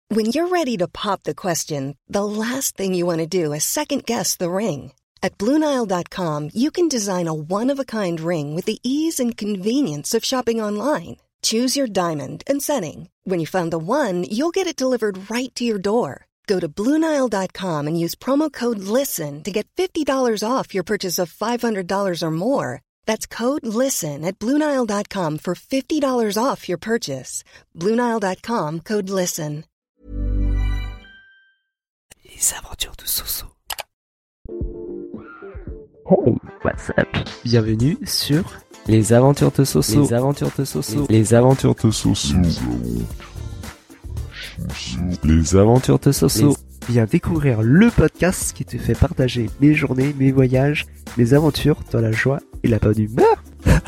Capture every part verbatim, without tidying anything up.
When you're ready to pop the question, the last thing you want to do is second-guess the ring. At Blue Nile dot com, you can design a one-of-a-kind ring with the ease and convenience of shopping online. Choose your diamond and setting. When you find the one, you'll get it delivered right to your door. Go to Blue Nile dot com and use promo code LISTEN to get fifty dollars off your purchase of five hundred dollars or more. That's code LISTEN at Blue Nile dot com for fifty dollars off your purchase. Blue Nile dot com, code LISTEN. Les aventures de Soso. Hey, what's up? Bienvenue sur Les aventures de Soso. Les aventures de Soso. Les aventures de Soso. Les aventures de Soso. Viens découvrir le podcast qui te fait partager mes journées, mes voyages, mes aventures dans la joie et la bonne humeur.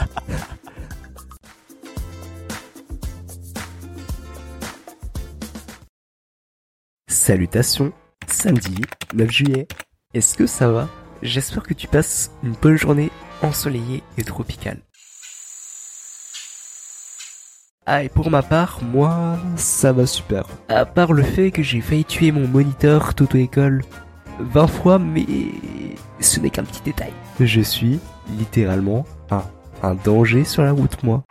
Salutations, samedi neuf juillet. Est-ce que ça va? J'espère que tu passes une bonne journée ensoleillée et tropicale. Ah, et pour ma part, moi, ça va super. À part le fait que j'ai failli tuer mon moniteur d'auto-école vingt fois, mais ce n'est qu'un petit détail. Je suis littéralement un, un danger sur la route, moi.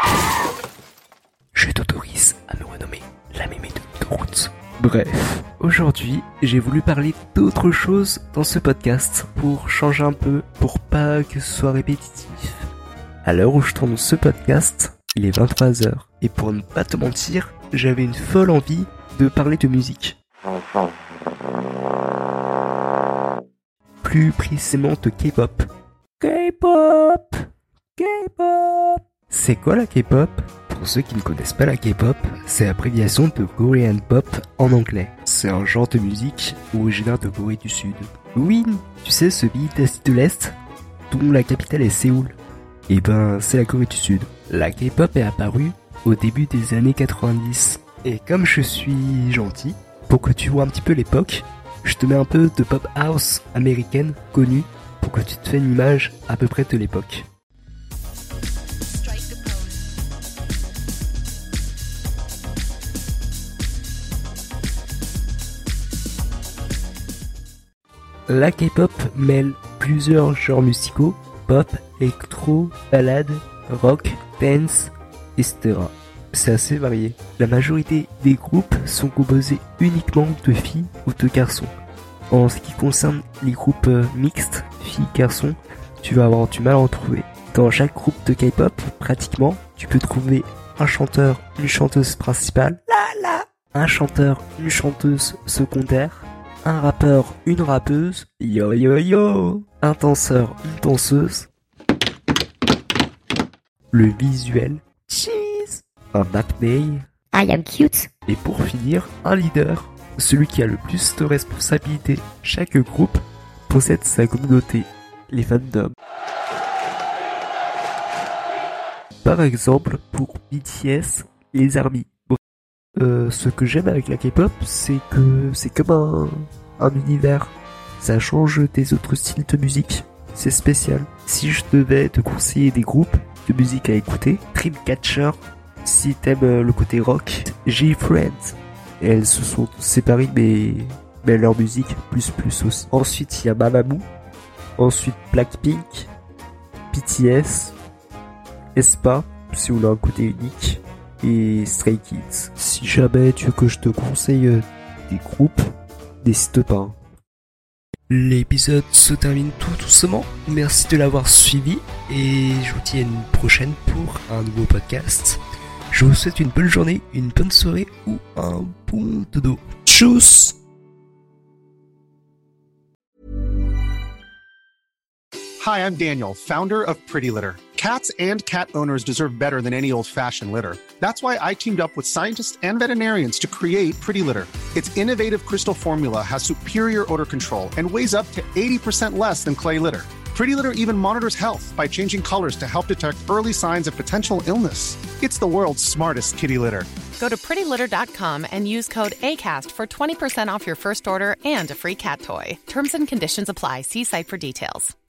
Je t'autorise à me renommer la mémé de route. Bref, aujourd'hui, j'ai voulu parler d'autre chose dans ce podcast pour changer un peu, pour pas que ce soit répétitif. À l'heure où je tourne ce podcast, il est vingt-trois heures, et pour ne pas te mentir, j'avais une folle envie de parler de musique. Plus précisément de K-pop. K-pop! K-pop! C'est quoi la K-pop? Pour ceux qui ne connaissent pas la K-pop, c'est l'abréviation de Korean Pop en anglais. C'est un genre de musique originaire de Corée du Sud. Oui, tu sais, ce pays d'Asie de l'Est, dont la capitale est Séoul. Et ben, c'est la Corée du Sud. La K-pop est apparue au début des années quatre-vingt-dix. Et comme je suis gentil, pour que tu vois un petit peu l'époque, je te mets un peu de pop house américaine connue pour que tu te fasses une image à peu près de l'époque. La K-pop mêle plusieurs genres musicaux, pop, électro, ballade, rock, dance, et cetera. C'est assez varié. La majorité des groupes sont composés uniquement de filles ou de garçons. En ce qui concerne les groupes mixtes, filles-garçons, tu vas avoir du mal à en trouver. Dans chaque groupe de K-pop, pratiquement, tu peux trouver un chanteur, une chanteuse principale, la la, un chanteur, une chanteuse secondaire, un rappeur, une rappeuse, yo yo yo, un danseur, une danseuse, le visuel, cheese, un acné, I am cute, et pour finir, un leader, celui qui a le plus de responsabilités. Chaque groupe possède sa communauté, les fandoms. Par exemple, pour B T S, les ARMY. Euh, ce que j'aime avec la K-pop, c'est que c'est comme un, un univers. Ça change des autres styles de musique. C'est spécial. Si je devais te conseiller des groupes de musique à écouter, Dreamcatcher, si t'aimes le côté rock, J-Friends. Elles se sont séparées, mais, mais leur musique plus plus aussi. Ensuite, il y a Mamamoo. Ensuite, Blackpink, B T S, aespa, si vous voulez un côté unique, et Stray Kids. Si jamais tu veux que je te conseille des groupes, n'hésite pas. L'épisode se termine tout doucement. Merci de l'avoir suivi et je vous dis à une prochaine pour un nouveau podcast. Je vous souhaite une bonne journée, une bonne soirée ou un bon dodo. Tchuss! Hi, I'm Daniel, founder of Pretty Litter. Cats and cat owners deserve better than any old-fashioned litter. That's why I teamed up with scientists and veterinarians to create Pretty Litter. Its innovative crystal formula has superior odor control and weighs up to eighty percent less than clay litter. Pretty Litter even monitors health by changing colors to help detect early signs of potential illness. It's the world's smartest kitty litter. Go to pretty litter dot com and use code ACAST for twenty percent off your first order and a free cat toy. Terms and conditions apply. See site for details.